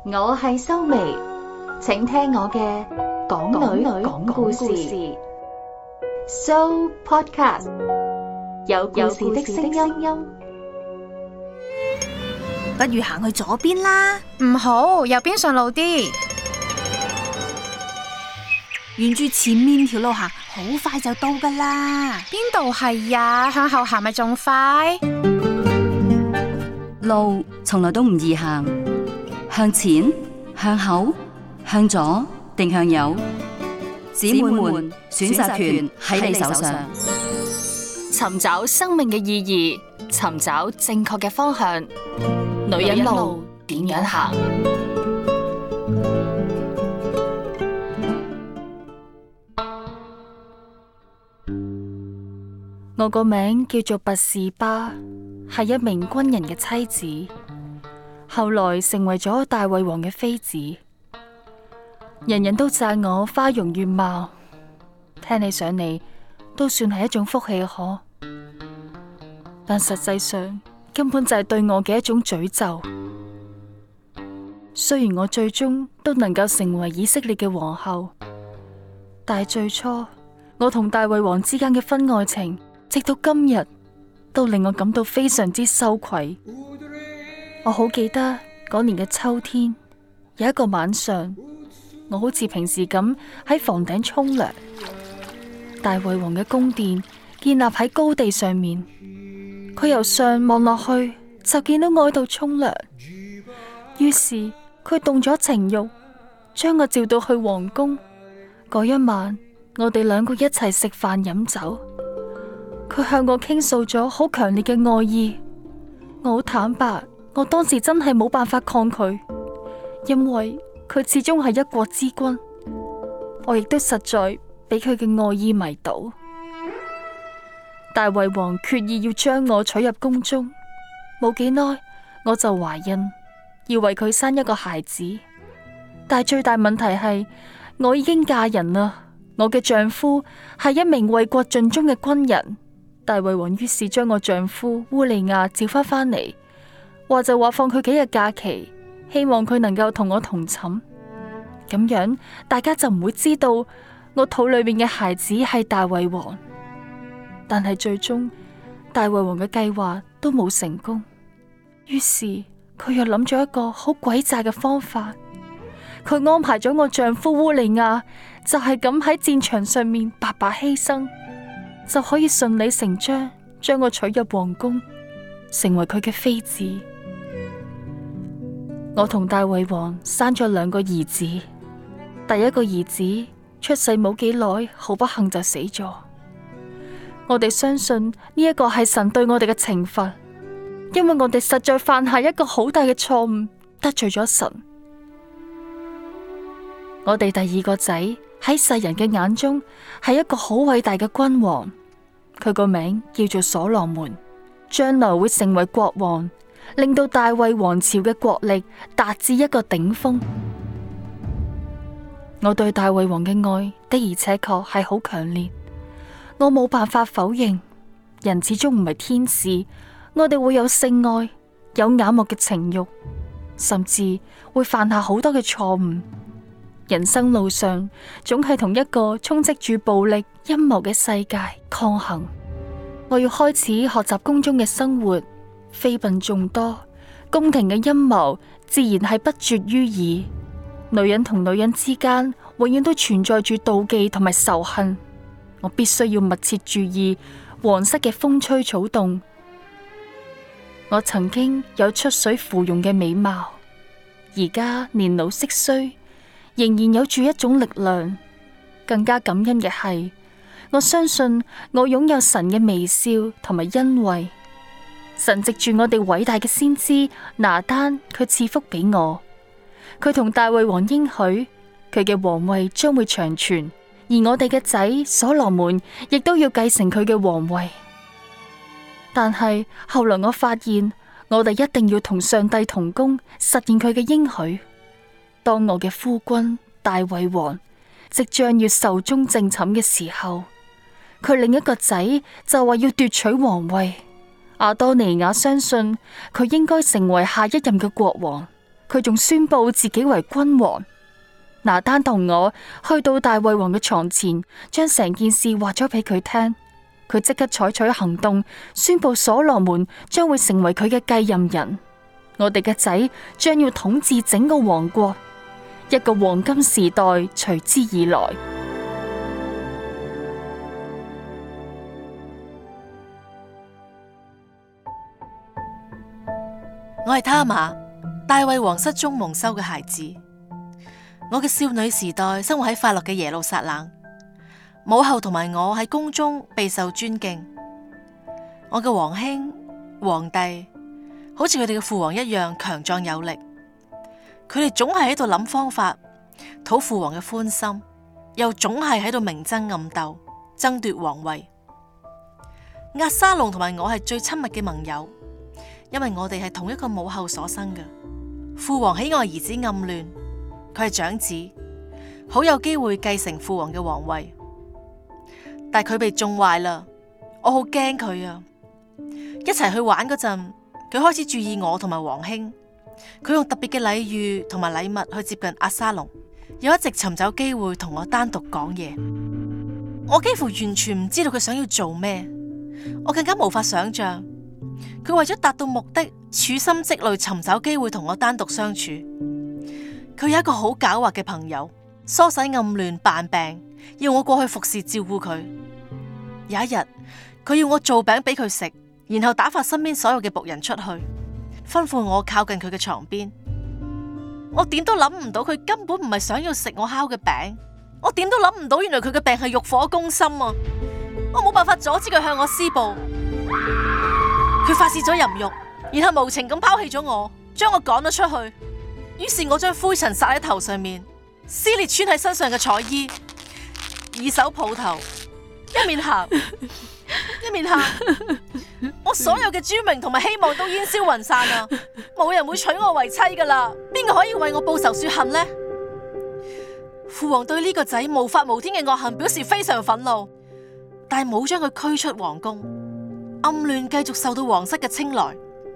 我係修眉，請聽我嘅港女講故事So Podcast， 有故事的聲音。 不如行去左邊啦。 唔好，右邊順路啲。 沿住前面條路行，好快就到噶啦。 邊度係呀？向後行咪仲快？ 路從來都唔易行，向前、向後、向左定向右，姊妹們選擇權喺你手上。 尋找生命嘅意義，尋找正確嘅方向，女人路點樣行？ 我個名叫做拔士巴，係一名軍人嘅妻子，後來成為咗大衛王嘅妃子。人人都讚我花容月貌，聽起上嚟都算係一種福氣可，但實際上根本就係對我嘅一種詛咒。雖然我最終都能夠成為以色列嘅皇后，但係最初我同大衛王之間嘅婚外情，直到今日都令我感到非常之羞愧。我好記得嗰年嘅秋天，有一個晚上，我好似平時咁喺房頂沖涼。大衛王嘅宮殿建立喺高地上面，佢由上望落去就見到我喺度沖涼。於是佢動咗情慾，將我召到去皇宮。嗰一晚，我哋兩個一齊食飯飲酒。佢向我傾訴咗好強烈嘅愛意，我好坦白，我當時真係冇辦法抗拒，因為佢始終係一國之君，我亦都實在俾佢嘅愛意迷倒。大衛王決意要將我娶入宮中，冇幾耐我就懷孕，要為佢生一個孩子。但係最大問題係我已經嫁人啦，我嘅丈夫係一名為國盡忠嘅軍人。大衛王於是將我丈夫烏利亞召翻嚟，話就話放佢幾日假期，希望佢能夠同我同寢，咁樣大家就唔會知道我肚裏面嘅孩子係大衛王。但係最終大衛王嘅計劃都冇成功，於是佢又諗咗一個好詭詐嘅方法，佢安排咗我丈夫烏利亞就係咁喺戰場上面白白犧牲，就可以順理成章將我娶入皇宮，成為佢嘅妃子。我同大衛王生咗2個兒子，第一個兒子出世冇幾耐，好不幸就死咗。我哋相信呢一個係神對我哋嘅懲罰，因為我哋實在犯下一個好大嘅錯誤，得罪咗神。我哋第2個仔喺世人嘅眼中係一個好偉大嘅君王，佢個名叫做所羅門，將來會成為國王，令到大衛王朝嘅國力達至一個頂峰。我對大衛王嘅愛的而且確係好強烈，我冇辦法否認，人始終唔係天使，我哋會有性愛，有眼目嘅情慾，甚至會犯下好多嘅錯誤。人生路上總係同一個充斥住暴力陰謀嘅世界抗衡。我要開始學習宮中嘅生活，妃嬪眾多，宮廷嘅陰謀自然係不絕於耳。女人同女人之間永遠都存在住妒忌同埋仇恨。我必須要密切注意皇室嘅風吹草動。我曾經有出水芙蓉嘅美貌，而家年老色衰，仍然有住一種力量。更加感恩嘅係，我相信我擁有神嘅微笑同埋恩惠。神藉住我哋偉大嘅先知拿單，佢賜福俾我。佢同大衛王應許，佢嘅皇位將會長存，而我哋嘅仔所羅門亦都要繼承佢嘅皇位。但係後來我發現，我哋一定要同上帝同工，實現佢嘅應許。當我嘅夫君大衛王即將要壽終正寢嘅時候，佢另一個仔就話要奪取皇位。亞多尼雅相信佢應該成為下一任嘅國王， 佢仲宣布自己為君王。拿單同我去到大衛王嘅床前，將成件事話咗俾佢聽。佢即刻採取行動，宣布所羅門將會成為佢嘅繼任人。我哋嘅仔將要統治整個王國，一個黃金時代隨之而來。 我係他瑪，大衛王室中蒙羞嘅孩子。我嘅少女時代生活喺快樂嘅耶路撒冷，母后同埋我喺宮中備受尊敬。我嘅皇兄、皇帝好似佢哋嘅父王一樣強壯有力，佢哋總係喺度諗方法討父王嘅歡心，又總係喺度明爭暗鬥，爭奪皇位。押沙龍同埋我係最親密嘅盟友，因為我哋係同一個母后所生嘅。父王喜愛兒子暗戀，佢係長子，好有機會繼承父王嘅皇位。但係佢被縱壞啦，我好驚佢啊！一齊去玩嗰陣，佢開始注意我同埋皇兄，佢用特別嘅禮遇同埋禮物去接近押沙龍，又一直尋找機會同我單獨講嘢。我幾乎完全唔知道佢想要做咩，我更加無法想象佢為咗達到目的，處心積慮尋找機會同我單獨相處。佢有一個好狡猾嘅朋友，唆使暗亂扮病，要我過去服侍照顧佢。有一日，佢要我做餅俾佢食，然後打發身邊所有嘅僕人出去，吩咐我靠近佢嘅床邊。我點都諗唔到佢根本唔係想要食我烤嘅餅，我點都諗唔到原來佢嘅病係欲火攻心啊！我冇辦法阻止佢向我施暴，佢發洩咗淫慾，然後無情咁拋棄咗我，將我趕咗出去。於是我將灰塵撒喺頭上面，撕裂穿喺身上嘅彩衣，以手抱頭，一面喊一面喊。我所有嘅尊榮同埋希望都煙消雲散啦，冇人會娶我為妻噶啦，邊個可以為我報仇雪恨呢？父王對呢個仔無法無天嘅惡行表示非常憤怒，但係冇將佢驅出皇宮，暗亂繼續受到皇室嘅青睞。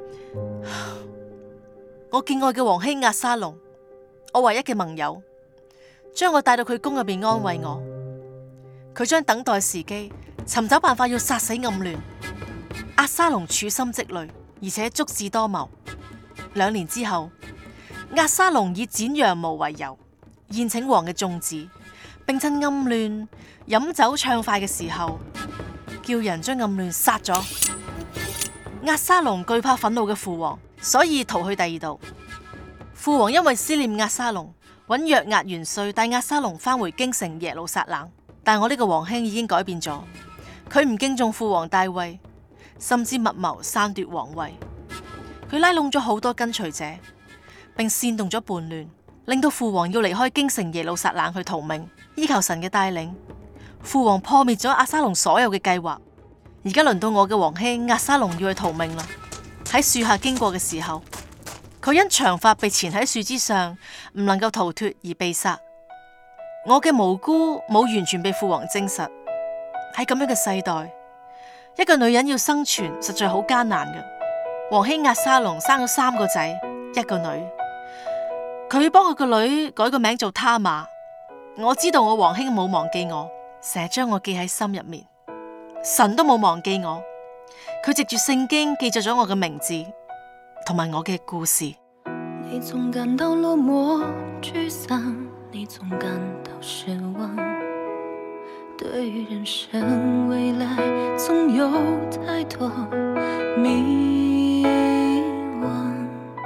我敬愛嘅皇兄押沙龍，我唯一嘅盟友，將我帶到佢宮入邊安慰我。佢將等待時機，尋找辦法要殺死暗亂。押沙龍處心積慮，而且足智多謀。2年之後，押沙龍以剪羊毛為由，宴請王嘅眾子，並趁暗亂飲酒暢快嘅時候，叫人將暗亂殺咗。押沙龍懼怕憤怒嘅父王，所以逃去第二度。父王因為思念押沙龍，揾約押元帥帶押沙龍返回京城耶路撒冷。但我呢個皇兄已經改變咗，佢唔敬重父王大衛，甚至密謀篡奪皇位。佢拉攏咗好多跟隨者，並煽動咗叛亂，令到父王要離開京城耶路撒冷去逃命。依靠神嘅帶領，父王破滅咗押沙龍所有嘅計劃。而家輪到我嘅皇兄押沙龍要去逃命啦。喺樹下經過嘅時候，佢因長髮被纏喺樹枝上，唔能夠逃脫而被殺。我嘅無辜冇完全被父王證實。喺咁樣嘅世代，一個女人要生存實在好艱難嘅。皇兄押沙龍生咗3個仔，1個女。佢幫佢個女改個名做他瑪。我知道我皇兄冇忘記我，成日將我記喺心入面。神都冇忘記我，佢藉住聖經記載咗我嘅名字同埋我嘅故事。 你總感到落寞沮喪，你總感到失望，對於人生未來總有太多迷惘，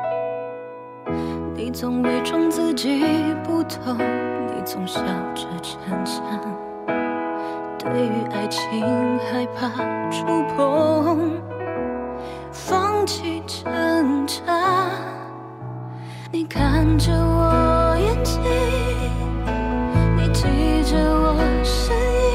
你總偽裝自己不懂，你總笑着逞強，對於愛情害怕觸碰，放棄掙扎。你看着我眼睛，你記着我聲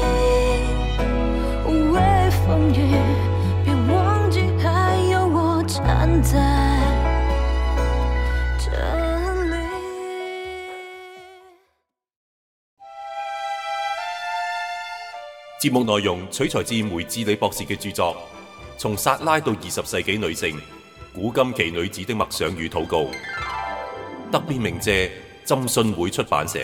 音，無畏風雨，別忘記還有我站在這裡。 節目內容取材自梅智里博士嘅著作《從撒拉到20世紀女性：古今奇女子的默想與禱告》。 特別鳴謝浸信會出版社。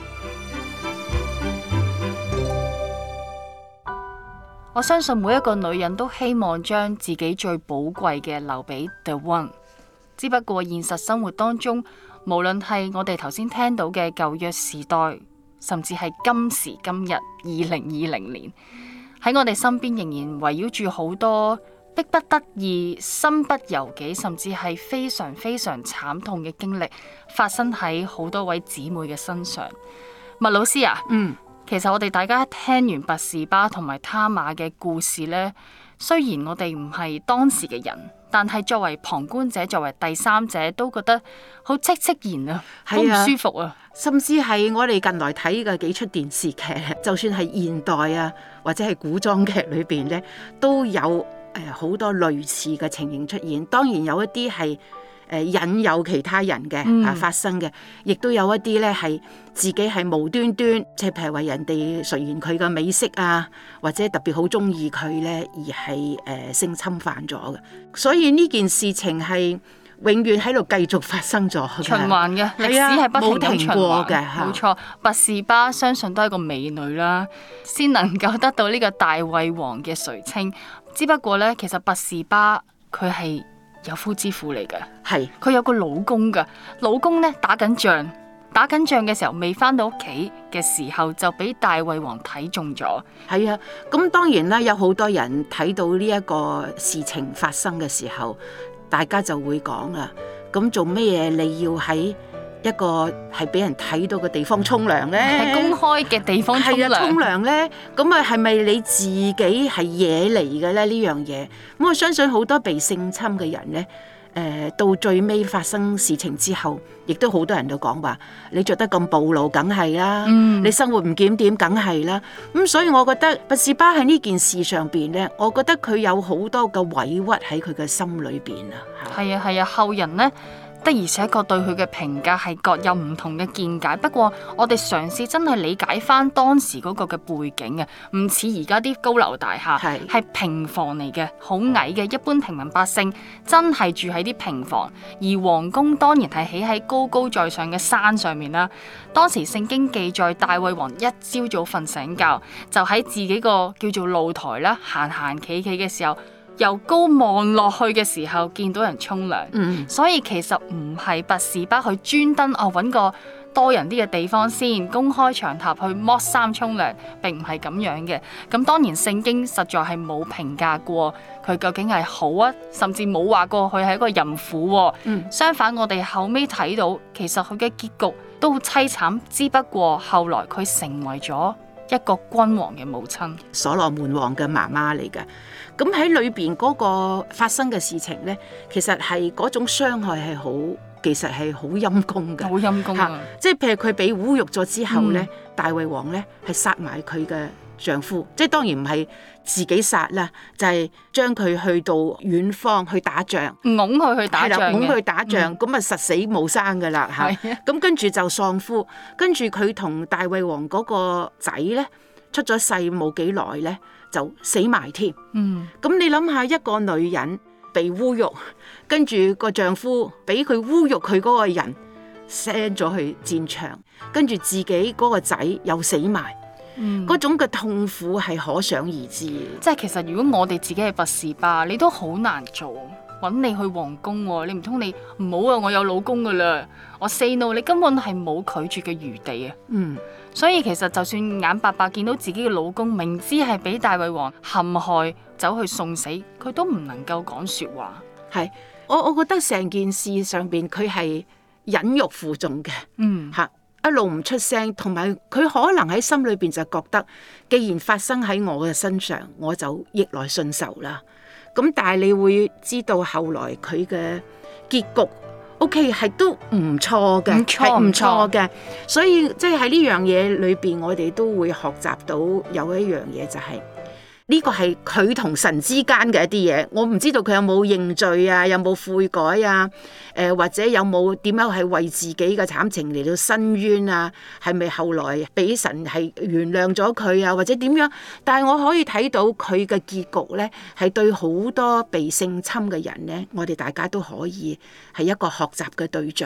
我相信每一個女人都希望將自己最寶貴嘅留俾 The One， 只不過現實生活當中，無論係我哋頭先聽到嘅舊約時代，甚至係今時今日2020年，喺我哋身邊仍然圍繞住好多迫不得已、身不由己，甚至係非常非常慘痛嘅經歷，發生喺好多位姊妹嘅身上。麥老師啊，其實我哋大家聽完拔示巴同埋他瑪嘅故事呢，雖然我哋唔係當時嘅人，但係作為旁觀者、作為第三者，都覺得好戚然啊，好唔舒服啊。 甚至係我哋近來睇嘅幾出電視劇，就算係現代啊，或者係古裝劇裏邊呢，都有好多類似嘅情形出現。當然有一啲係引誘其他人嘅發生嘅，亦都有一啲咧係自己係無端端，即係譬如話人哋垂涎佢嘅美色啊，或者特別好中意佢咧，而係性侵犯咗嘅。所以呢件事情係永遠喺度繼續發生咗， 循環嘅歷史係不停咁循環嘅。冇錯，拔示巴相信都係一個美女啦，先能夠得到呢個大衛王嘅垂青。只不過咧，其實拔示巴佢係有夫之婦嚟嘅，係佢有個老公噶，老公咧打緊仗嘅時候未翻到屋企嘅時候就俾大衛王睇中咗。 係啊，咁當然啦，有好多人睇到呢一個事情發生嘅時候，大家就會講啦，咁做咩嘢你要喺一個係俾人睇到嘅地方沖涼咧？ 係公開嘅地方沖涼咧？咁啊係咪你自己係惹嚟嘅咧？呢樣嘢，咁我相信好多被性侵嘅人咧，到最尾發生事情之後，亦都好多人都講話，你着得咁暴露，梗係啦，你生活唔檢點，梗係啦。咁所以我覺得拔示巴喺呢件事上邊咧，我覺得佢有好多嘅委屈喺佢嘅心裏邊啊。 係啊，後人咧的而且確對佢嘅評價係各有唔同嘅見解，不過我哋嘗試真係理解翻當時嗰個嘅背景啊，唔似而家啲高樓大廈，係平房嚟嘅，好矮嘅，一般平民百姓真係住喺啲平房，而皇宮當然係起喺高高在上嘅山上面啦。當時聖經記載大衛王一朝早瞓醒覺，就喺自己個叫做露台啦，行企嘅時候，由高望落去嘅時候見到人沖涼，所以其實唔係拔示巴去專登揾個多人啲嘅地方先公開場合去剝衫沖涼，並唔係咁樣嘅。咁當然聖經實在係冇評價過佢究竟係好啊，甚至冇話過佢係一個淫婦。相反，我哋後尾睇到其實佢嘅結局都好凄慘，只不過後來佢成為咗一個君王嘅母親， 所羅門王嘅媽媽嚟嘅。咁喺裏邊嗰個發生嘅事情咧，其實係嗰種傷害係好，其實係好陰公嘅， 好陰公啊！ 即係譬如佢俾侮辱咗之後咧，大衛王咧係殺埋佢嘅丈夫，即係當然唔係自己殺啦，就係將佢去到遠方去打仗， 擁佢去打仗嘅， 擁佢去打仗，咁啊實死冇生噶啦嚇。咁跟住就喪夫，跟住佢同大衛王嗰個仔咧出咗世冇幾耐咧，就死埋添。咁你諗下，一個女人被侮辱，跟住個丈夫俾佢侮辱佢嗰個人 send 咗去戰場，跟住自己嗰個仔又死埋，嗰種嘅痛苦係可想而知。 即係其實如果我哋自己係拔示巴，你都好難做，揾你去皇宮，你唔通你唔好啊？我有老公噶啦，我 say no， 你根本係冇拒絕嘅餘地啊。所以其實就算眼白白見到自己嘅老公，明知係俾大衛王陷害，走去送死，佢都唔能夠講說話。 係，我覺得成件事上邊佢係忍辱負重嘅，一路唔出聲，同埋佢可能喺心裏邊就覺得，既然發生喺我嘅身上，我就逆來順受啦。咁但係你會知道後來佢嘅結局 OK 係都唔錯嘅，係唔錯嘅。所以即係喺呢樣嘢裏邊，我哋都會學習到有一樣嘢，就係呢個係佢同神之間嘅一啲嘢。我唔知道佢有冇認罪啊，有冇悔改啊，或者有冇點樣係為自己嘅慘情嚟到申冤啊？係咪後來俾神係原諒咗佢啊？或者點樣？但係我可以睇到佢嘅結局咧，係對好多被性侵嘅人咧，我哋大家都可以係一個學習嘅對象。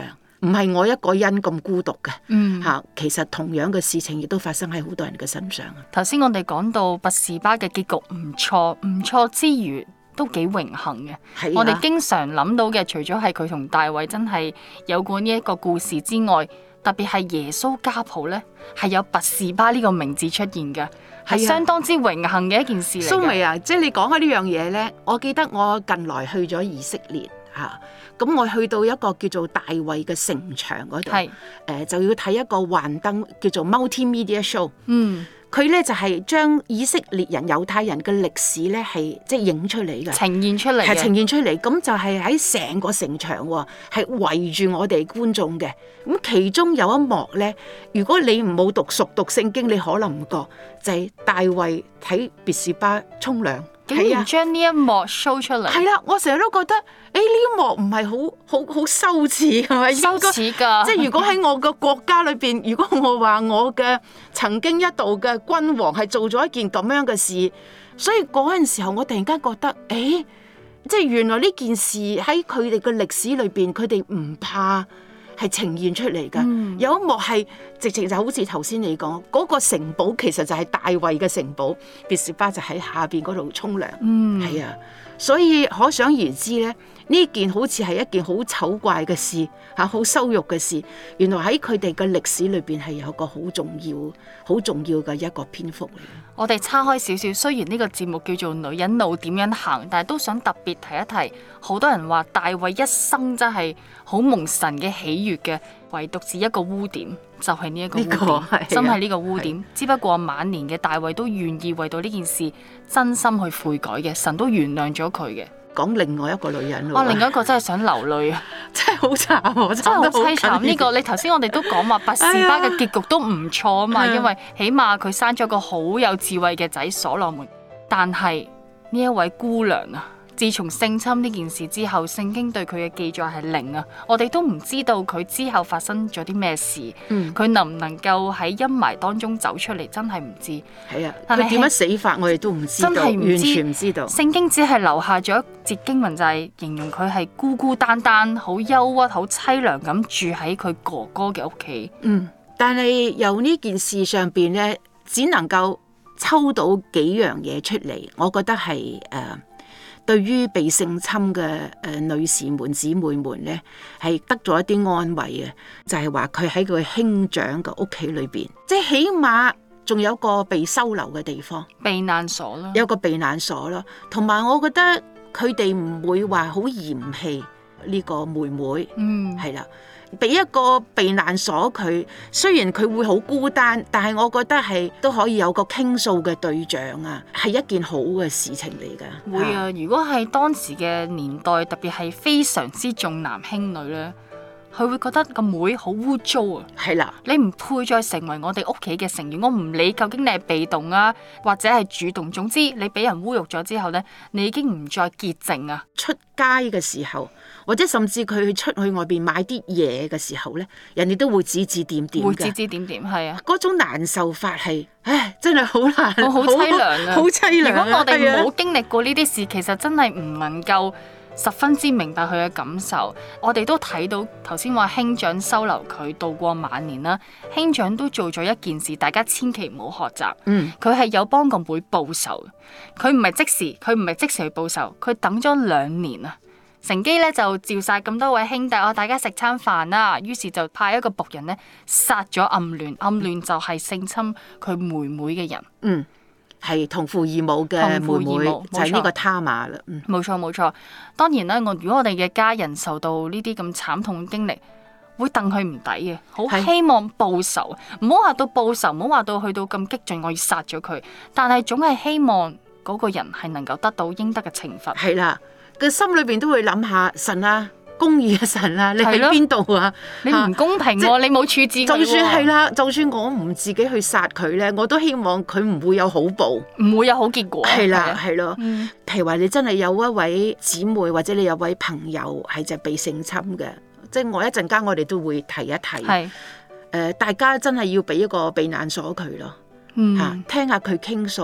唔係我一個人咁孤獨嘅。 嗯， 其實同樣嘅事情亦都發生喺好多人嘅身上啊。 頭先我哋講到拔士巴嘅結局唔錯，唔錯之餘都幾榮幸嘅。我哋經常諗到嘅，除咗係佢同大衛真係有過呢一個故事之外，特別係耶穌家譜呢，係有拔士巴呢個名字出現嘅，係相當之榮幸嘅一件事嚟嘅。 蘇眉啊，即係你講開呢樣嘢呢，我記得我近來去咗以色列嚇，咁我去到一個叫做大衛嘅城牆嗰度，就要睇一個幻燈叫做 multimedia show。佢咧就係將以色列人、猶太人嘅歷史咧係即係影出嚟嘅， 呈現出嚟， 係呈現出嚟。咁就係喺成個城牆喎，係圍住我哋觀眾嘅。咁其中有一幕咧，如果你唔冇熟讀聖經，你可能唔覺，就係大衛睇別是巴沖涼。 竟然將呢一幕 show 出嚟， 係啦，我成日都覺得，呢一幕唔係好羞恥係咪？ 羞恥㗎！ 即係如果喺我個國家裏邊，如果我話我嘅曾經一度嘅君王係做咗一件咁樣嘅事，所以嗰陣時候我突然間覺得，即係原來呢件事喺佢哋嘅歷史裏邊，佢哋唔怕。係呈現出嚟㗎，有一幕係直情就好似頭先你講嗰個城堡，其實就係大衛嘅城堡，別是巴就喺下邊嗰度沖涼，係啊，所以可想而知咧，呢件好似係一件好醜怪嘅事嚇，好羞辱嘅事，原來喺佢哋嘅歷史裏邊係有個好重要嘅一個篇幅嚟。 我哋岔開少少，雖然呢個節目叫做女人路點樣行，但係都想特別提一提，好多人話大衛一生真係好蒙神嘅喜悅嘅，唯獨是一個污點，就係呢一個污點，真係呢個污點。只不過晚年嘅大衛都願意為到呢件事真心去悔改嘅，神都原諒咗佢嘅。 講另外一個女人， 另外一個真係想流淚啊！ 真係好慘， 真係好凄慘。呢個你頭先我哋都講話拔士巴嘅結局都唔錯啊嘛，因為起碼佢生咗個好有智慧嘅仔所羅門。但係呢一位姑娘啊，自從性侵呢件事之後，聖經對佢嘅記載係零啊！我哋都唔知道佢之後發生咗啲咩事，佢能唔能夠喺陰霾當中走出嚟，真係唔知。 係啊，佢點樣死法我哋都唔知道，完全唔知道。 聖經只係留下咗一節經文，就係形容佢係孤孤單單、好憂鬱、好凄涼咁住喺佢哥哥嘅屋企。 但係由呢件事上邊咧，只能夠抽到幾樣嘢出嚟，我覺得係對於被性侵嘅女士們、姊妹們咧，係得咗一啲安慰嘅，就係話佢喺佢兄長嘅屋企裏邊，即係起碼仲有個被收留嘅地方， 避難所咯， 有個避難所咯。同埋我覺得佢哋唔會話好嫌棄呢個妹妹，係啦。俾一個避難所佢，雖然佢會好孤單，但係我覺得係都可以有個傾訴嘅對象啊，係一件好嘅事情嚟㗎。 會啊，如果係當時嘅年代，特別係非常之重男輕女咧，佢會覺得個妹好污糟啊。係啦，你唔配再成為我哋屋企嘅成員。我唔理究竟你係被動啊，或者係主動，總之你俾人侮辱咗之後咧，你已經唔再潔淨啊。出街嘅時候，或者甚至佢出去外邊買啲嘢嘅時候咧，人哋都會指指點點嘅， 會指指點點，係啊， 嗰種難受法係，真係好難， 好凄涼啊， 好凄涼。 如果我哋冇經歷過呢啲事，其實真係唔能夠十分之明白佢嘅感受。我哋都睇到頭先話兄長收留佢度過晚年啦，兄長都做咗一件事，大家千祈唔好學習。佢係有幫個妹報仇，佢唔係即時去報仇，佢等咗2年啊。乘機咧就召晒咁多位兄弟，大家食餐飯啦。於是就派一個僕人咧殺咗暗戀，暗戀就係性侵佢妹妹嘅人。 係同父異母嘅妹妹，就係呢個他瑪啦。 冇錯。當然啦，如果我哋嘅家人受到呢啲咁慘痛嘅經歷，會戥佢唔抵嘅，好希望報仇。唔好話到報仇，唔好話到去到咁激進，我要殺咗佢。但係總係希望嗰個人係能夠得到應得嘅懲罰。 係啦。個心裏邊都會諗下神啊，公義嘅神啊，你喺邊度啊？ 你唔公平喎，你冇處置佢喎。 就算係啦，就算我唔自己去殺佢咧，我都希望佢唔會有好報， 唔會有好結果。 係啦，係咯。譬如話你真係有一位姊妹或者你有位朋友係就被性侵嘅，即係我一陣間我哋都會提一提。大家真係要俾一個避難所佢咯。聽下佢傾訴。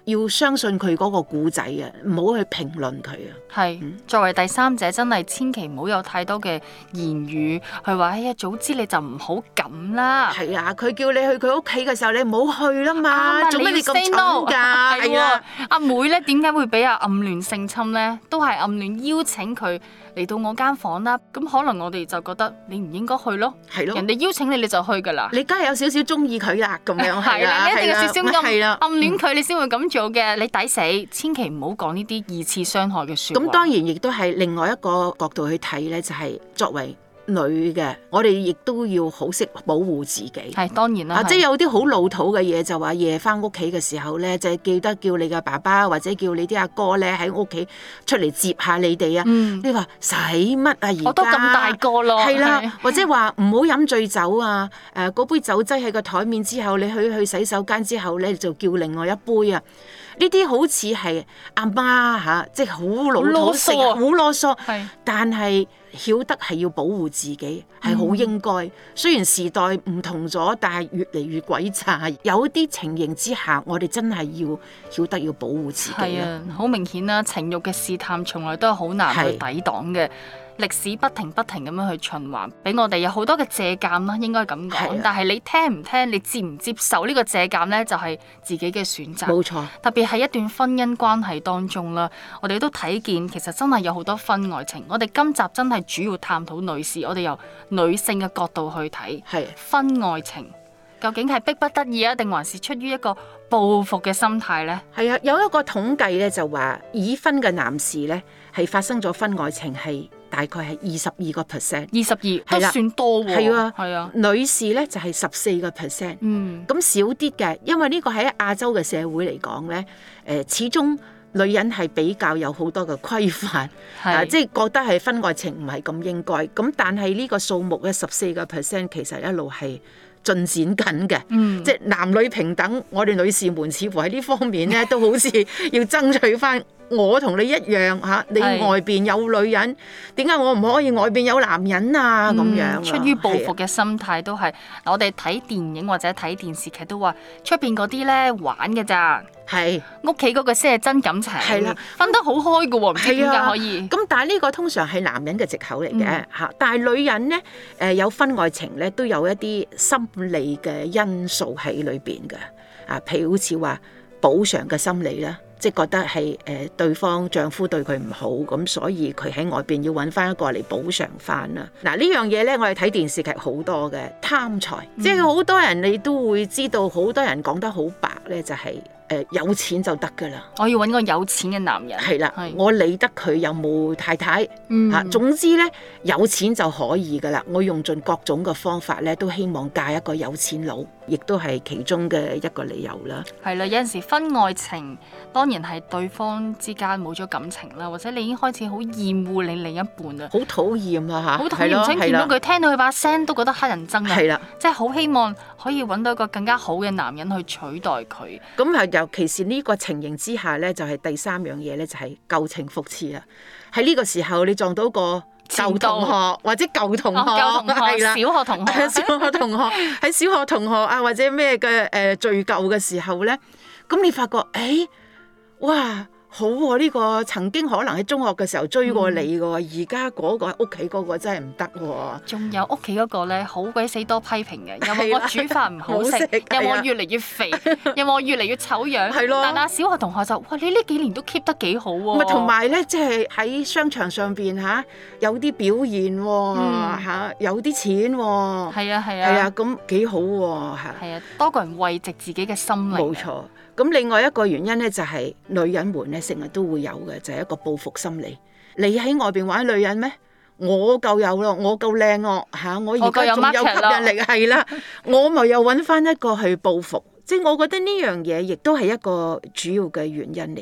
要相信佢嗰個故仔啊，唔好去評論佢啊。 係作為第三者，真係千祈唔好有太多嘅言語去話，哎呀，早知你就唔好咁啦。 係啊，佢叫你去佢屋企嘅時候，你唔好去啦嘛。做咩你咁蠢㗎？ 係啊，阿妹咧點解會俾阿暗戀性侵咧？都係暗戀邀請佢嚟到我間房啦。咁可能我哋就覺得你唔應該去咯。係咯，人哋邀請你就去㗎啦。 你梗係有少少中意佢啦，咁樣係啦，你一定有少少暗戀佢，你先會咁做嘅。你抵死，千祈唔好講呢啲二次傷害嘅説話。咁當然亦都係另外一個角度去睇咧，就係作為女嘅，我哋亦都要好識保護自己。 係當然啦， 即係有啲好老土嘅嘢，就話夜翻屋企嘅時候咧，就係記得叫你嘅爸爸或者叫你啲阿哥咧喺屋企出嚟接下你哋啊。你話使乜啊？而家我都咁大個咯。 係啦，或者話唔好飲醉酒啊。嗰杯酒擠喺個台面之後，你去洗手間之後咧，就叫另外一杯啊。呢啲好似係阿媽嚇，即係好老土，好囉嗦。但係曉得係要保護自己，係好應該。雖然時代唔同咗，但係越嚟越詭詐。有啲情形之下，我哋真係要曉得要保護自己。 係啊，好明顯啦，情慾嘅試探從來都係好難去抵擋嘅。歷史不停咁樣去循環，俾我哋有好多嘅借鑑啦，應該咁講。但係你聽唔聽，你接唔接受呢個借鑑呢？就係自己嘅選擇。 冇錯， 特別係一段婚姻關係當中啦，我哋都睇見其實真係有好多婚外情。我哋今集真係主要探討女士，我哋由女性嘅角度去睇婚外情，究竟係迫不得已啊，定還是出於一個報復嘅心態呢？ 係啊，有一個統計咧就話已婚嘅男士咧係發生咗婚外情係大概係22%， 22都算多喎。 係啊，女士咧就係14%。咁少啲嘅，因為呢個喺亞洲嘅社會嚟講咧，始終女人係比較有好多嘅規範，即係覺得係婚外情唔係咁應該。咁但係呢個數目嘅14%其實一路係進展緊嘅，即係男女平等。我哋女士們似乎喺呢方面咧都好似要爭取翻。我同你一樣嚇，你外邊有女人，點解我唔可以外邊有男人啊？咁樣出於報復嘅心態都係。我哋睇電影或者睇電視劇都話，出邊嗰啲咧玩嘅咋，屋企嗰個先係真感情。係啦，分得好開嘅喎，唔知點解可以。 咁但係呢個通常係男人嘅藉口嚟嘅嚇，但係女人咧有婚外情咧，都有一啲心理嘅因素喺裏邊嘅譬如好似話補償嘅心理啦。即係覺得係對方丈夫對佢唔好，咁所以佢喺外邊要揾翻一個嚟補償翻啦。嗱，呢樣嘢咧，我哋睇電視劇好多嘅貪財，即係好多人你都會知道，好多人講得好白咧，就係有錢就得噶啦。 我要揾個有錢嘅男人。 係啦，我理得佢有冇太太嚇，總之咧有錢就可以噶啦。我用盡各種嘅方法咧，都希望嫁一個有錢佬，亦都係其中嘅一個理由啦。 係啦，有陣時婚外情當然係對方之間冇咗感情啦，或者你已經開始好厭惡你另一半啦， 好討厭啊嚇， 好討厭，唔想見到佢，聽到佢把聲都覺得乞人憎啊， 係啦， 即係好希望可以揾到一個更加好嘅男人去取代佢。 咁係尤其是呢個情形之下咧，就係第三樣嘢咧，就係舊情復熾啦。喺呢個時候你撞到個舊同學或者舊同學，係啦， 小學同學， 小學同學喺小學同學啊，或者咩嘅敘舊嘅時候咧，咁你發覺哇！好喎，呢個曾經可能喺中學嘅時候追過你嘅，而家嗰個屋企嗰個真係唔得喎。 仲有屋企嗰個咧，好鬼死多批評嘅，有冇我煮飯唔好食，有冇我越嚟越肥，有冇我越嚟越醜樣。係咯。但係小學同學就哇，你呢幾年都 keep 得幾好喎。 同埋咧，即係喺商場上邊有啲表現喎，有啲錢喎。係啊係啊。係啊，咁幾好喎嚇。 係啊，多個人慰藉自己嘅心靈。 冇錯。咁另外一個原因咧，就係女人們咧成日都會有嘅，就係一個報復心理。你喺外邊玩女人咩？我夠有咯，我夠靚咯嚇，我而家仲有吸引力，係啦，我咪又揾翻一個去報復。即係我覺得呢樣嘢亦都係一個主要嘅原因嚟㗎。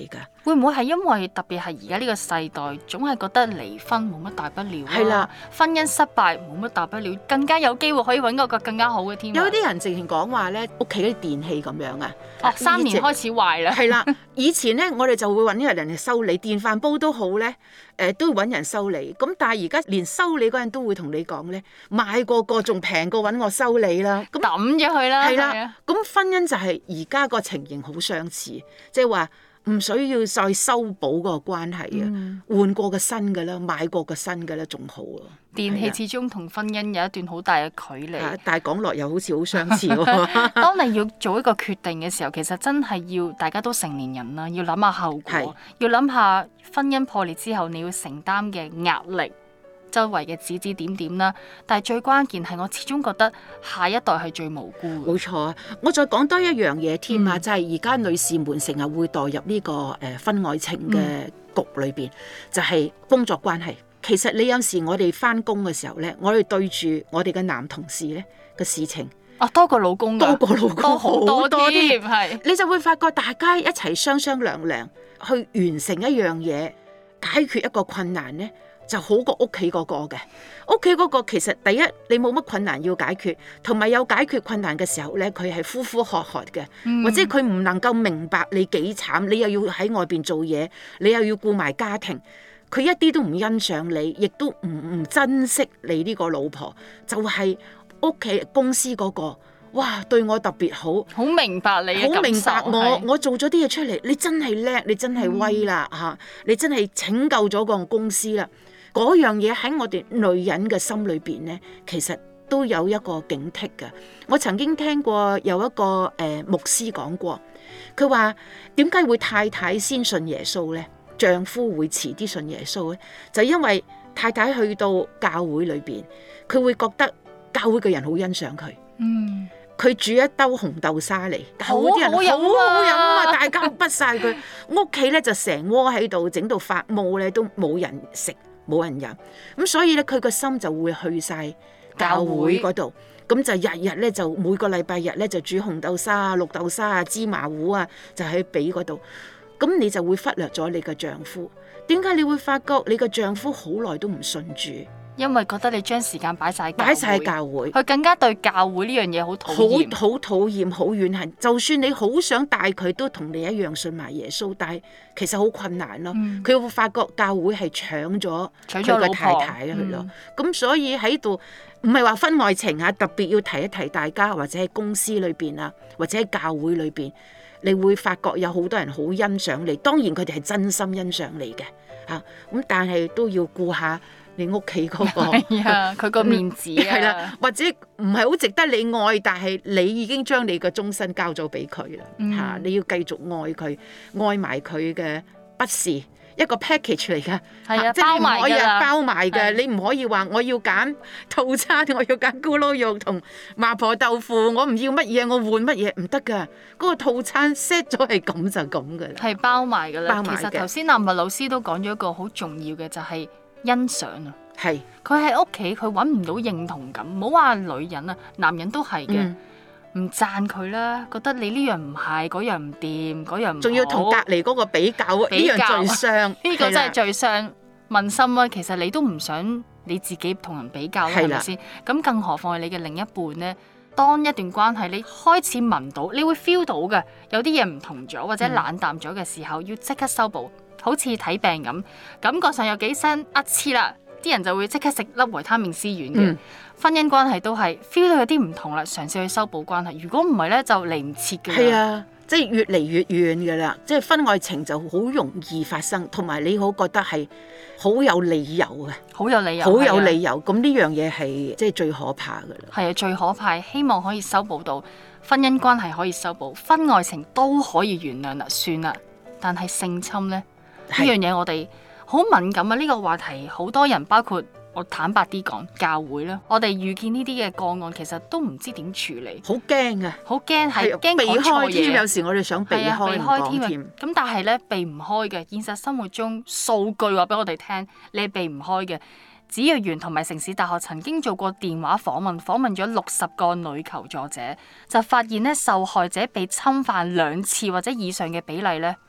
會唔會係因為特別係而家呢個世代，總係覺得離婚冇乜大不了啊？ 係啦， 婚姻失敗冇乜大不了，更加有機會可以揾個更加好嘅添。 有啲人直情講話咧，屋企啲電器咁樣啊 ，3年開始壞啦。 係啦，以前咧我哋就會揾一人嚟修理，電飯煲都好咧，都要揾人修理。咁但係而家連修理嗰人都會同你講咧，買過個仲平過揾我修理啦。咁抌咗佢啦。 係啦，咁婚姻就係而家個情形好相似，即係話。唔需要再修補個關係啊，換過個新嘅啦，買過個新嘅啦，仲好啊。 電器始終同婚姻有一段好大嘅距離， 但係講落又好似好相似喎。 當你要做一個決定嘅時候，其實真係要大家都成年人啦，要諗下後果，要諗下婚姻破裂之後你要承擔嘅壓力。周圍嘅指指點點啦，但係最關鍵係我始終覺得下一代係最無辜嘅。 冇錯啊！我再講多一樣嘢添啊，就係而家女士們成日會墮入呢個婚外情嘅局裏邊，就係工作關係。其實你有時我哋翻工嘅時候咧，我哋對住我哋嘅男同事咧嘅事情， 多過老公， 多過老公好多添， 係你就會發覺大家一齊商商量量去完成一樣嘢，解決一個困難咧。就好過屋企嗰個嘅，屋企嗰個其實第一你冇乜困難要解決，同埋有解決困難嘅時候咧，佢係呼呼喝喝嘅，或者佢唔能夠明白你幾慘，你又要喺外邊做嘢，你又要顧埋家庭，佢一啲都唔欣賞你，亦都唔珍惜你呢個老婆，就係屋企公司嗰個。哇！對我特別好， 好明白你嘅感受， 好明白我做咗啲嘢出嚟，你真係叻，你真係威啦嚇，你真係拯救咗個公司啦。嗰樣嘢喺我哋女人嘅心裏邊咧，其實都有一個警惕嘅。我曾經聽過有一個牧師講過，佢話點解會太太先信耶穌咧，丈夫會遲啲信耶穌咧？就因為太太去到教會裏邊，佢會覺得教會嘅人好欣賞佢。佢煮一兜紅豆沙嚟，教會啲人好好飲啊！大家不晒佢屋企咧，就成鍋喺度整到發毛咧，都冇人食，冇人飲。咁所以咧，佢個心就會去晒教會嗰度。咁就日日咧，就每個禮拜日咧，就煮紅豆沙啊、綠豆沙啊、芝麻糊啊，就喺俾嗰度。咁你就會忽略咗你嘅丈夫。點解你會發覺你嘅丈夫好耐都唔信主？ 因為覺得你將時間擺晒教會，佢更加對教會呢樣嘢好討厭， 好討厭，好怨恨。就算你好想帶佢都同你一樣信埋耶穌，但係其實好困難咯。佢會發覺教會係搶咗佢嘅太太去咯。咁所以喺度唔係話婚外情啊，特別要提一提大家，或者喺公司裏邊啊，或者喺教會裏邊，你會發覺有好多人好欣賞你。當然佢哋係真心欣賞你嘅嚇，咁但係都要顧下你屋企嗰個， 佢個面子啊， 係啦，或者唔係好值得你愛，但係你已經將你嘅終身交咗俾佢啦，嚇！你要繼續愛佢，愛埋佢嘅不是一個 package 嚟㗎， 係啊， 即係唔可以包埋嘅， 係你唔可以話我要揀套餐，我要揀咕嚕肉同麻婆豆腐，我唔要乜嘢，我換乜嘢唔得㗎，嗰個套餐 set 咗係咁就咁㗎啦， 係包埋㗎啦。 包埋嘅。 其實頭先阿麥老師都講咗一個好重要嘅，就係欣賞啊。 係佢喺屋企，佢揾唔到認同感。唔好話女人啊，男人都係嘅，唔讚佢啦，覺得你呢樣唔係，嗰樣唔掂，嗰樣唔好， 仲要同隔離嗰個比較，呢樣最傷， 呢個真係最傷問心啊！其實你都唔想你自己同人比較啦，係咪先？咁更何況係你嘅另一半呢？當一段關係你開始聞到，你會 feel 到嘅，有啲嘢唔同咗或者冷淡咗嘅時候，要即刻修補，好似睇病咁，感覺上有幾聲黐啦。啲人就會即刻食粒維他命 C 丸嘅，婚姻關係都係 feel 到有啲唔同啦，嘗試去修補關係。如果唔係咧，就嚟唔切嘅。 係啊，即係越嚟越遠嘅啦，即係婚外情就好容易發生，同埋你好覺得係好有理由嘅， 好有理由， 好有理由。咁呢樣嘢係即係最可怕嘅啦。 係啊，最可怕，希望可以修補到婚姻關係可以修補，婚外情都可以原諒啦，算啦。但係性侵咧呢樣嘢，我哋好敏感啊！呢個話題好多人，包括我坦白啲講，教會啦，我哋遇見呢啲嘅個案，其實都唔知點處理， 好驚啊！ 好驚，係驚避開添， 嘢。 有時我哋想避開添。 咁但係咧避唔開嘅，現實生活中數據話俾我哋聽，你係避唔開嘅。子若園同埋城市大學曾經做過電話訪問咗60個女求助者，就發現咧受害者被侵犯2次或者以上嘅比例咧，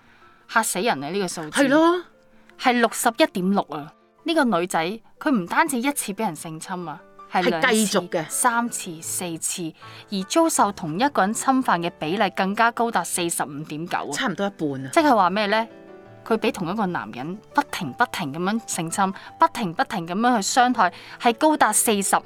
嚇死人啊！呢個數字係咯， 係61.6啊！呢個女仔佢唔單止一次俾人性侵啊，係兩繼次續嘅 3次、4次，而遭受同一個人侵犯嘅比例更加高達45.9啊！ 差唔多一半啊！ 即係話咩呢？佢俾同一個男人不停咁樣性侵，不停咁樣去傷害，係高達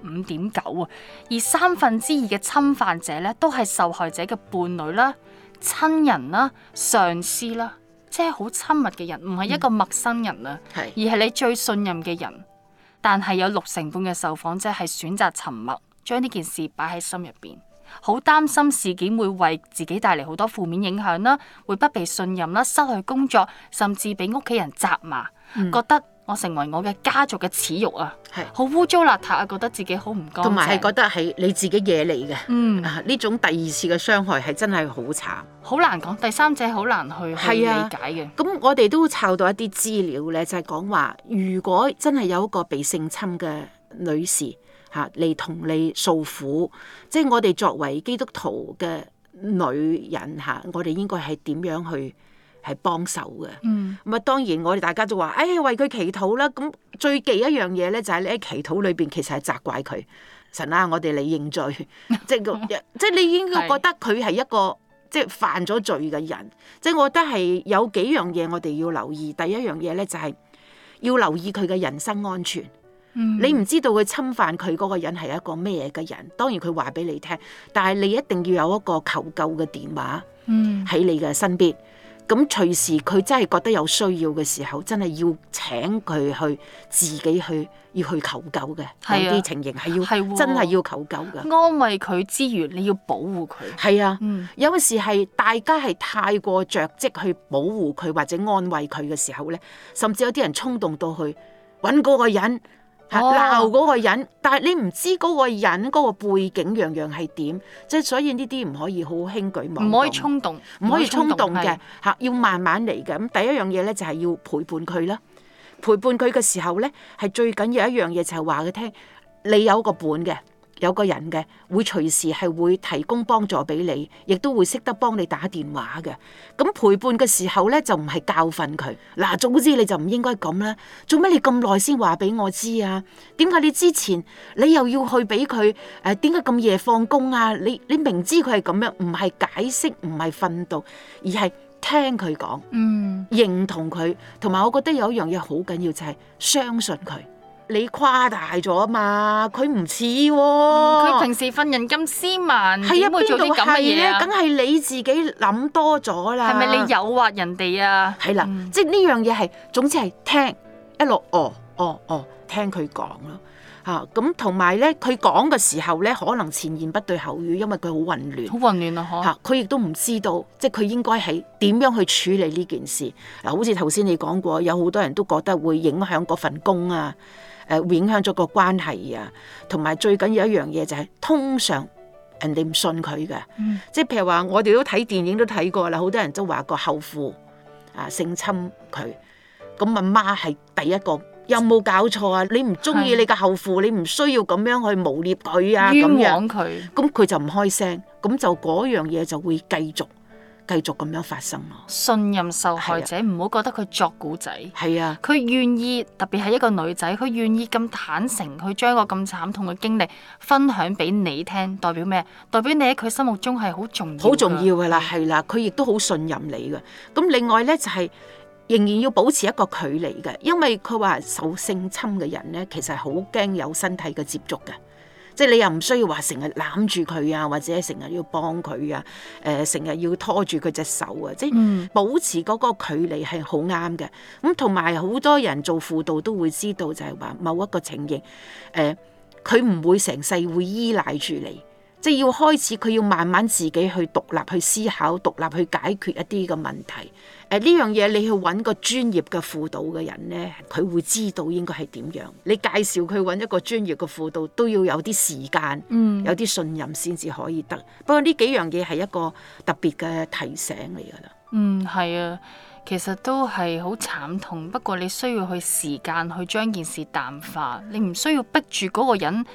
45.9啊！而2/3嘅侵犯者呢，都係受害者嘅伴侶啦、親人啦、上司啦，即係好親密嘅人，唔係一個陌生人啊，而係你最信任嘅人。但係有60%嘅受訪者係選擇沉默，將呢件事擺喺心入邊。好擔心事件會為自己帶嚟好多負面影響啦，會不被信任啦，失去工作，甚至俾屋企人責罵，覺得我成為我嘅家族嘅恥辱啊，好污糟邋遢啊，覺得自己好唔乾淨， 同埋係覺得係你自己惹嚟嘅。呢種第二次嘅傷害係真係好慘， 好難講，第三者好難去理解嘅。 咁我哋都抄到一啲資料咧，就係講話，如果真係有一個被性侵嘅女士嚟同你訴苦，即係我哋作為基督徒嘅女人我哋應該係點樣去係幫手嘅？咁啊，當然我哋大家都話，為佢祈禱啦。咁最忌一樣嘢咧，就係你喺祈禱裏邊其實係責怪佢，神啊，我哋嚟認罪，即係你應該覺得佢係一個即係犯咗罪嘅人。即係我覺得係有幾樣嘢我哋要留意。第一樣嘢咧就係要留意佢嘅人身安全。你唔知道佢侵犯佢嗰個人係一個咩嘅人，當然佢話俾你聽，但係你一定要有一個求救嘅電話喺你嘅身邊。咁隨時佢真係覺得有需要嘅時候，真係要請佢去自己要去求救嘅。有啲情形係真係要求救嘅。 安慰佢之餘，你要保護佢。 係啊，有陣時係大家係太過着跡去保護佢或者安慰佢嘅時候咧，甚至有啲人衝動到去揾嗰個人。鬧嗰個人，但係你唔知嗰個人嗰個背景樣樣係點，即係所以呢啲唔可以好輕舉妄動， 唔可以衝動， 唔可以衝動嘅要慢慢嚟嘅。咁第一樣嘢咧就係要陪伴佢啦，陪伴佢嘅時候咧係最緊要一樣嘢就係話佢聽，你有個伴嘅。有個人嘅會隨時係會提供幫助俾你，亦都會識得幫你打電話嘅。咁陪伴嘅時候咧，就唔係教訓佢。嗱，總之你就唔應該咁啦。做咩你咁耐先話俾我知啊？點解你之前你又要去俾佢？點解咁夜放工啊？你明知佢係咁樣，唔係解釋，唔係訓導，而係聽佢講，認同佢。同埋我覺得有一樣嘢好緊要，就係相信佢。你誇大咗啊嘛，佢唔似喎。 佢平時份人咁斯文，點會做啲咁嘅嘢啊？ 梗係你自己諗多咗啦。 係咪你誘惑人哋啊？ 係啦，即係呢樣嘢係，總之係聽一路聽佢講咯。咁同埋咧，佢講嘅時候咧，可能前言不對後語，因為佢好混亂。好混亂啊！ 佢亦都唔知道，即係佢應該係點樣去處理呢件事。嗱，好似頭先你講過，有好多人都覺得會影響嗰份工啊。會影響咗個關係啊，同埋最緊要一樣嘢就係，通常人哋唔信佢嘅，即係譬如話我哋都睇電影都睇過啦，好多人都話個後父性侵佢，咁阿媽係第一個，有冇搞錯啊？你唔中意你嘅後父，你唔需要咁樣去誣蔑佢啊， 冤枉佢， 咁佢就唔開聲，咁就嗰樣嘢就會繼續咁樣發生咯。 信任受害者，唔好覺得佢作古仔。 係啊， 佢願意，特別係一個女仔，佢願意咁坦誠去將個咁慘痛嘅經歷分享俾你聽，代表咩？代表你喺佢心目中係好重要。好重要㗎啦，係啦，佢亦都好信任你嘅。咁另外咧就係仍然要保持一個距離嘅，因為佢話受性侵嘅人咧，其實係好驚有身體嘅接觸嘅。即係你又唔需要話成日攬住佢啊，或者成日要幫佢啊，成日要拖住佢隻手啊，即係保持嗰個距離係好啱嘅。咁同埋好多人做輔導都會知道，就係話某一個情形，佢唔會成世會依賴住你，即係要開始佢要慢慢自己去獨立去思考，獨立去解決一啲嘅問題。呢樣嘢你去揾個專業嘅輔導嘅人咧，佢會知道應該係點樣。你介紹佢揾一個專業嘅輔導，都要有啲時間，有啲信任先至可以得。不過呢幾樣嘢係一個特別嘅提醒嚟㗎啦。 係啊，其實都係好慘痛，不過你需要去時間去將件事淡化，你唔需要逼住嗰個人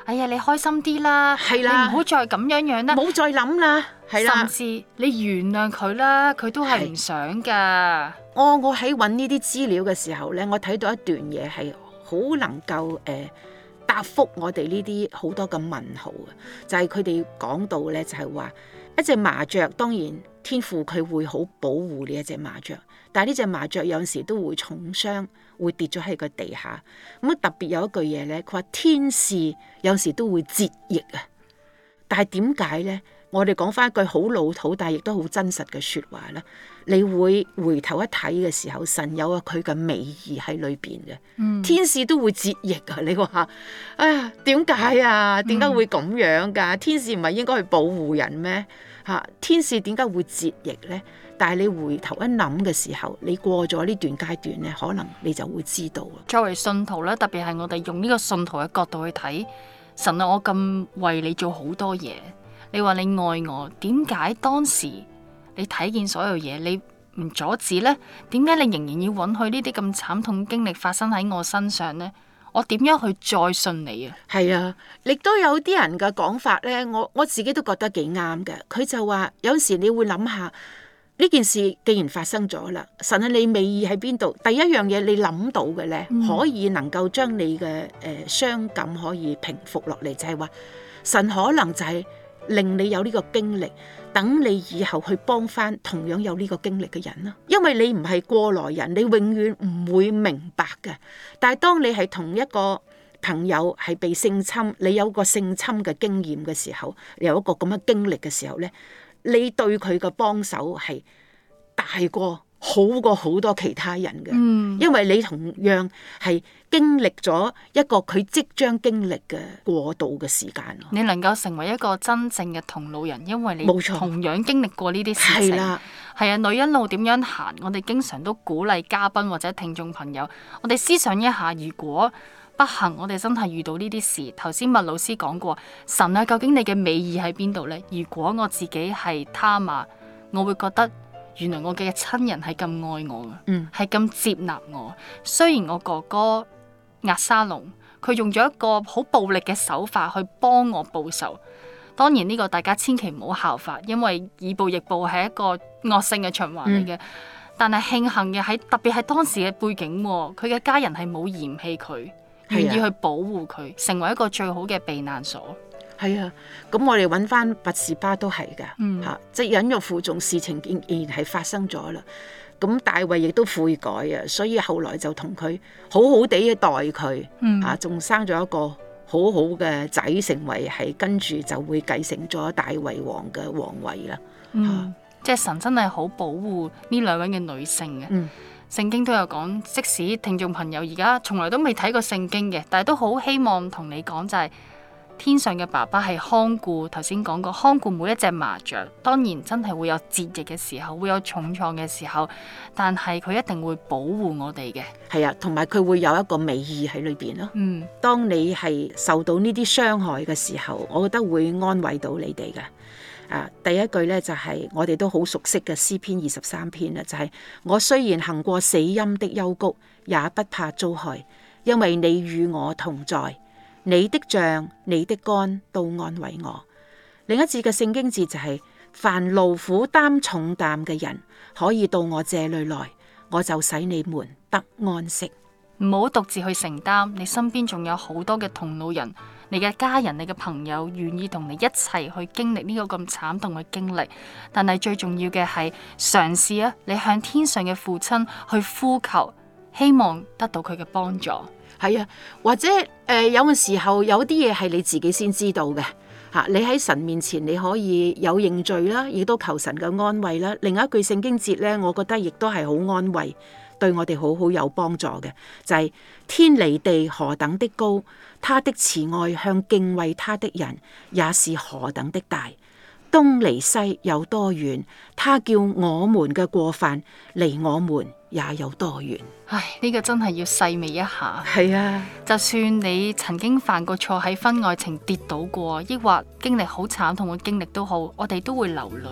哎呀，你開心啲啦， 係啦， 你唔好再咁樣啦， 唔好再諗啦，係啦， 甚至你原諒佢啦，佢都係唔想噶。 我喺揾呢啲資料嘅時候咧，我睇到一段嘢係好能夠答覆我哋呢啲好多嘅問號啊！就係佢哋講到咧，就係話一隻麻雀，當然天父佢會好保護呢一隻麻雀，但係呢隻麻雀有陣時都會重傷，會跌咗喺個地下。咁特別有一句嘢咧，佢話天使有時都會折翼啊！但係點解咧？我哋講翻一句好老土，但係亦都好真實嘅説話啦。你會回頭一睇嘅時候，神有佢嘅美意喺裏邊嘅。天使都會折翼啊！你話哎呀，點解啊？點解會咁樣㗎？天使唔係應該去保護人咩？嚇，天使點解會折翼咧？但係你回頭一諗嘅時候，你過咗呢段階段咧，可能你就會知道啦。 作為信徒咧，特別係我哋用呢個信徒嘅角度去睇，神啊，我咁為你做好多嘢。你話你愛我，點解當時你睇見所有嘢，你唔阻止呢？點解你仍然要允許呢啲咁慘痛經歷發生喺我身上呢？我點樣去再信你啊？係啊， 亦都有啲人嘅講法呢，我自己都覺得幾啱嘅。佢就話有時你會諗下呢件事既然發生咗啦，神啊，你美意喺邊度？第一樣嘢你諗到嘅呢，可以能夠將你嘅傷感可以平復落嚟，就係話神可能就係令你有呢個經歷，等你以後去幫翻同樣有呢個經歷嘅人啦。因為你唔係過來人，你永遠唔會明白嘅。但係當你係同一個朋友係被性侵，你有個性侵嘅經驗嘅時候，有一個咁嘅經歷嘅時候呢，你對佢嘅幫手係大過好過好多其他人嘅。因為你同樣係經歷咗一個佢即將經歷嘅過渡嘅時間。 你能夠成為一個真正嘅同路人，因為你同樣經歷過呢啲事情。係啊，女人路點樣行？我哋經常都鼓勵嘉賓或者聽眾朋友，我哋思想一下，如果不幸我哋真係遇到呢啲事，頭先麥老師講過，神啊，究竟你嘅美意喺邊度呢？如果我自己係他瑪，我會覺得原來我嘅親人係咁愛我嘅，係咁接納我。雖然我哥哥押沙龍，佢用咗一個好暴力嘅手法去幫我報仇。當然呢個大家千祈唔好效法，因為以暴易暴係一個惡性嘅循環嚟嘅。但係慶幸嘅係，特別係當時嘅背景，佢嘅家人係冇嫌棄佢，願意去保護佢，成為一個最好嘅避難所。 係啊，咁我哋揾翻拔士巴都係㗎，即係忍辱負重，事情仍然係發生咗啦。咁大衛亦都悔改啊，所以後來就同佢好好地嘅待佢，仲生咗一個好好嘅仔，成為係跟住就會繼承咗大衛王嘅皇位啦。 即係神真係好保護呢兩位嘅女性嘅。聖經都有講，即使聽眾朋友而家從來都未睇過聖經嘅，但係都好希望同你講就係，天上嘅爸爸係看顧，頭先講過看顧每一隻麻雀。當然真係會有折翼嘅時候，會有重創嘅時候，但係佢一定會保護我哋嘅。 係啊，同埋佢會有一個美意喺裏邊咯。當你係受到呢啲傷害嘅時候，我覺得會安慰到你哋嘅。第一句咧就係我哋都好熟悉嘅詩篇23篇啦，就係我雖然行過死蔭的幽谷，也不怕遭害，因為你與我同在。你的杖、你的竿都安慰我。另一節嘅聖經節就係凡勞苦擔重擔嘅人，可以到我這裏來，我就使你們得安息。 唔好獨自去承擔，你身邊仲有好多嘅同路人，你嘅家人、你嘅朋友願意同你一齊去經歷呢個咁慘痛嘅經歷。但係最重要嘅係嘗試啊，你向天上嘅父親去呼求，希望得到佢嘅幫助。 係啊，或者有陣時候有啲嘢係你自己先知道嘅嚇，你喺神面前你可以有認罪啦，亦都求神嘅安慰啦。另一句聖經節咧，我覺得亦都係好安慰，對我哋好有幫助嘅，就係天離地何等的高，他的慈愛向敬畏他的人也是何等的大。東離西有多遠，他叫我們嘅過犯離我們也有多遠。 唉，呢個真係要細味一下。 係啊， 就算你曾經犯過錯，喺婚外情跌倒過，抑或經歷好慘痛嘅經歷都好，我哋都會流淚啊。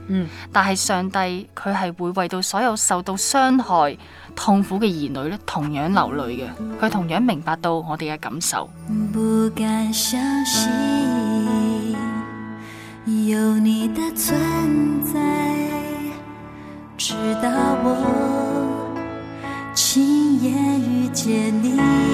但係上帝佢係會為到所有受到傷害、痛苦嘅兒女咧，同樣流淚嘅。佢同樣明白到我哋嘅感受。 不敢相信有你的存在，直到我親眼遇見你，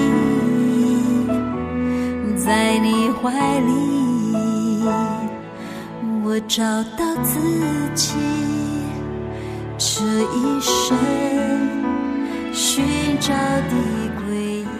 在你懷裡我找到自己，這一生尋找的歸依。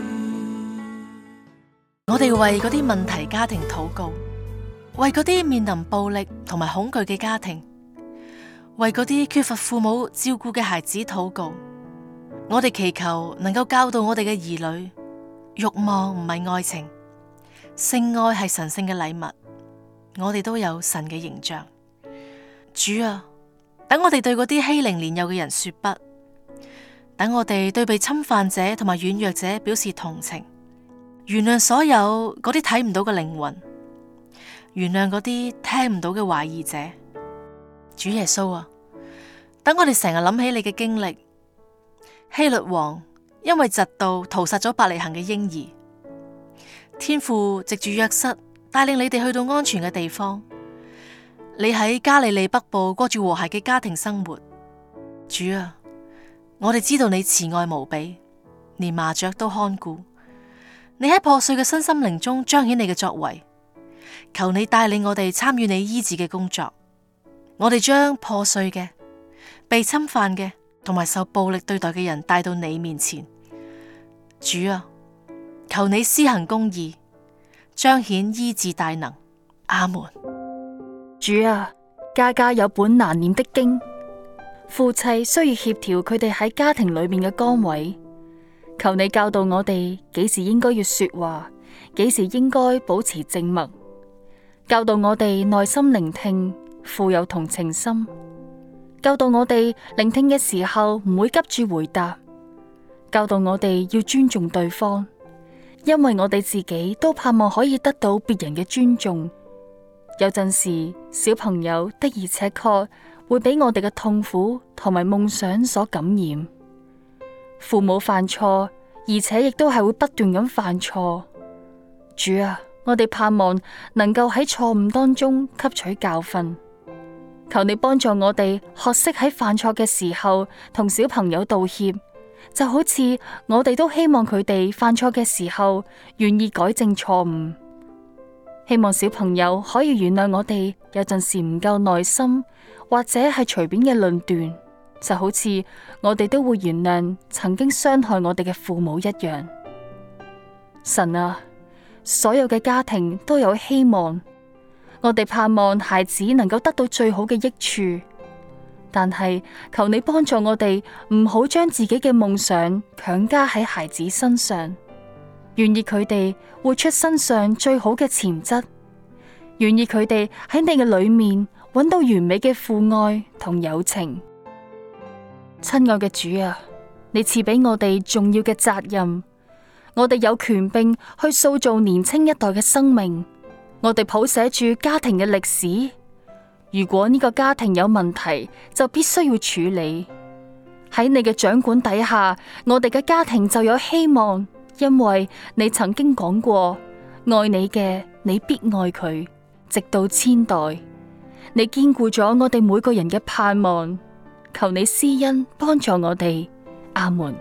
我哋為嗰啲問題家庭禱告，為嗰啲面臨暴力同埋恐懼嘅家庭，為嗰啲缺乏父母照顧嘅孩子禱告。我哋祈求能夠教導我哋嘅兒女，慾望唔係愛情，性愛係神聖嘅禮物。我哋都有神嘅形象。主啊，等我哋對嗰啲欺凌年幼嘅人說不，等我哋對被侵犯者同埋軟弱者表示同情，原諒所有嗰啲睇唔到嘅靈魂，原諒嗰啲聽唔到嘅懷疑者。主耶穌啊，等我哋成日諗起你嘅經歷，希律王因為嫉妒屠殺咗伯利恆嘅嬰兒，天父藉住約瑟帶領你哋去到安全嘅地方，你喺加利利北部過住和諧嘅家庭生活。主啊，我哋知道你慈愛無比，連麻雀都看顧，你喺破碎嘅身心靈中彰顯你嘅作為。求你帶領我哋參與你醫治嘅工作，我哋將破碎嘅、被侵犯嘅同埋受暴力對待嘅人帶到你面前。主啊，求你施行公義，彰顯醫治大能。阿門。 主啊，家家有本難念的經，夫妻需要協調佢哋喺家庭裏面嘅崗位。求你教導我哋幾時應該要說話，幾時應該保持靜默。教導我哋耐心聆聽，富有同情心。教導我哋聆聽嘅時候唔會急住回答。教導我哋要尊重對方，因為我哋自己都盼望可以得到別人嘅尊重。有陣時，小朋友的而且確會俾我哋嘅痛苦同埋夢想所感染。父母犯錯，而且亦都係會不斷咁犯錯。主啊，我哋盼望能夠喺錯誤當中吸取教訓。求你幫助我哋學識喺犯錯嘅時候同小朋友道歉，就好似我哋都希望佢哋犯錯嘅時候願意改正錯誤。希望小朋友可以原諒我哋有陣時唔夠耐心，或者係隨便嘅論斷，就好似我哋都會原諒曾經傷害我哋嘅父母一樣。神啊，所有嘅家庭都有希望，我哋盼望孩子能夠得到最好嘅益處，但係求你幫助我哋唔好將自己嘅夢想強加喺孩子身上。願意佢哋活出身上最好嘅潛質，願意佢哋喺你嘅裏面揾到完美嘅父愛同友情。親愛嘅主啊，你賜俾我哋重要嘅責任，我哋有權柄去塑造年輕一代嘅生命，我哋譜寫住家庭嘅歷史。如果呢個家庭有問題，就必須要處理。喺你嘅掌管底下，我哋嘅家庭就有希望。因為你曾經講過，愛你嘅，你必愛佢，直到千代。你堅固咗我哋每個人嘅盼望，求你施恩幫助我哋。阿門。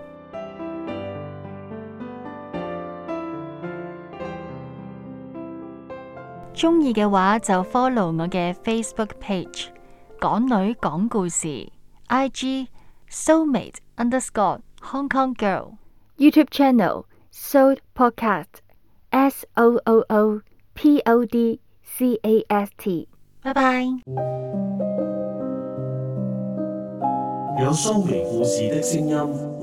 鍾意嘅話就 follow 我嘅 Facebook page 港女講故事 ，IG Soulmate _Hong Kong Girl YouTube channel Soul Podcast SOOOPODCAST。拜拜。 有蘇眉故事的聲音。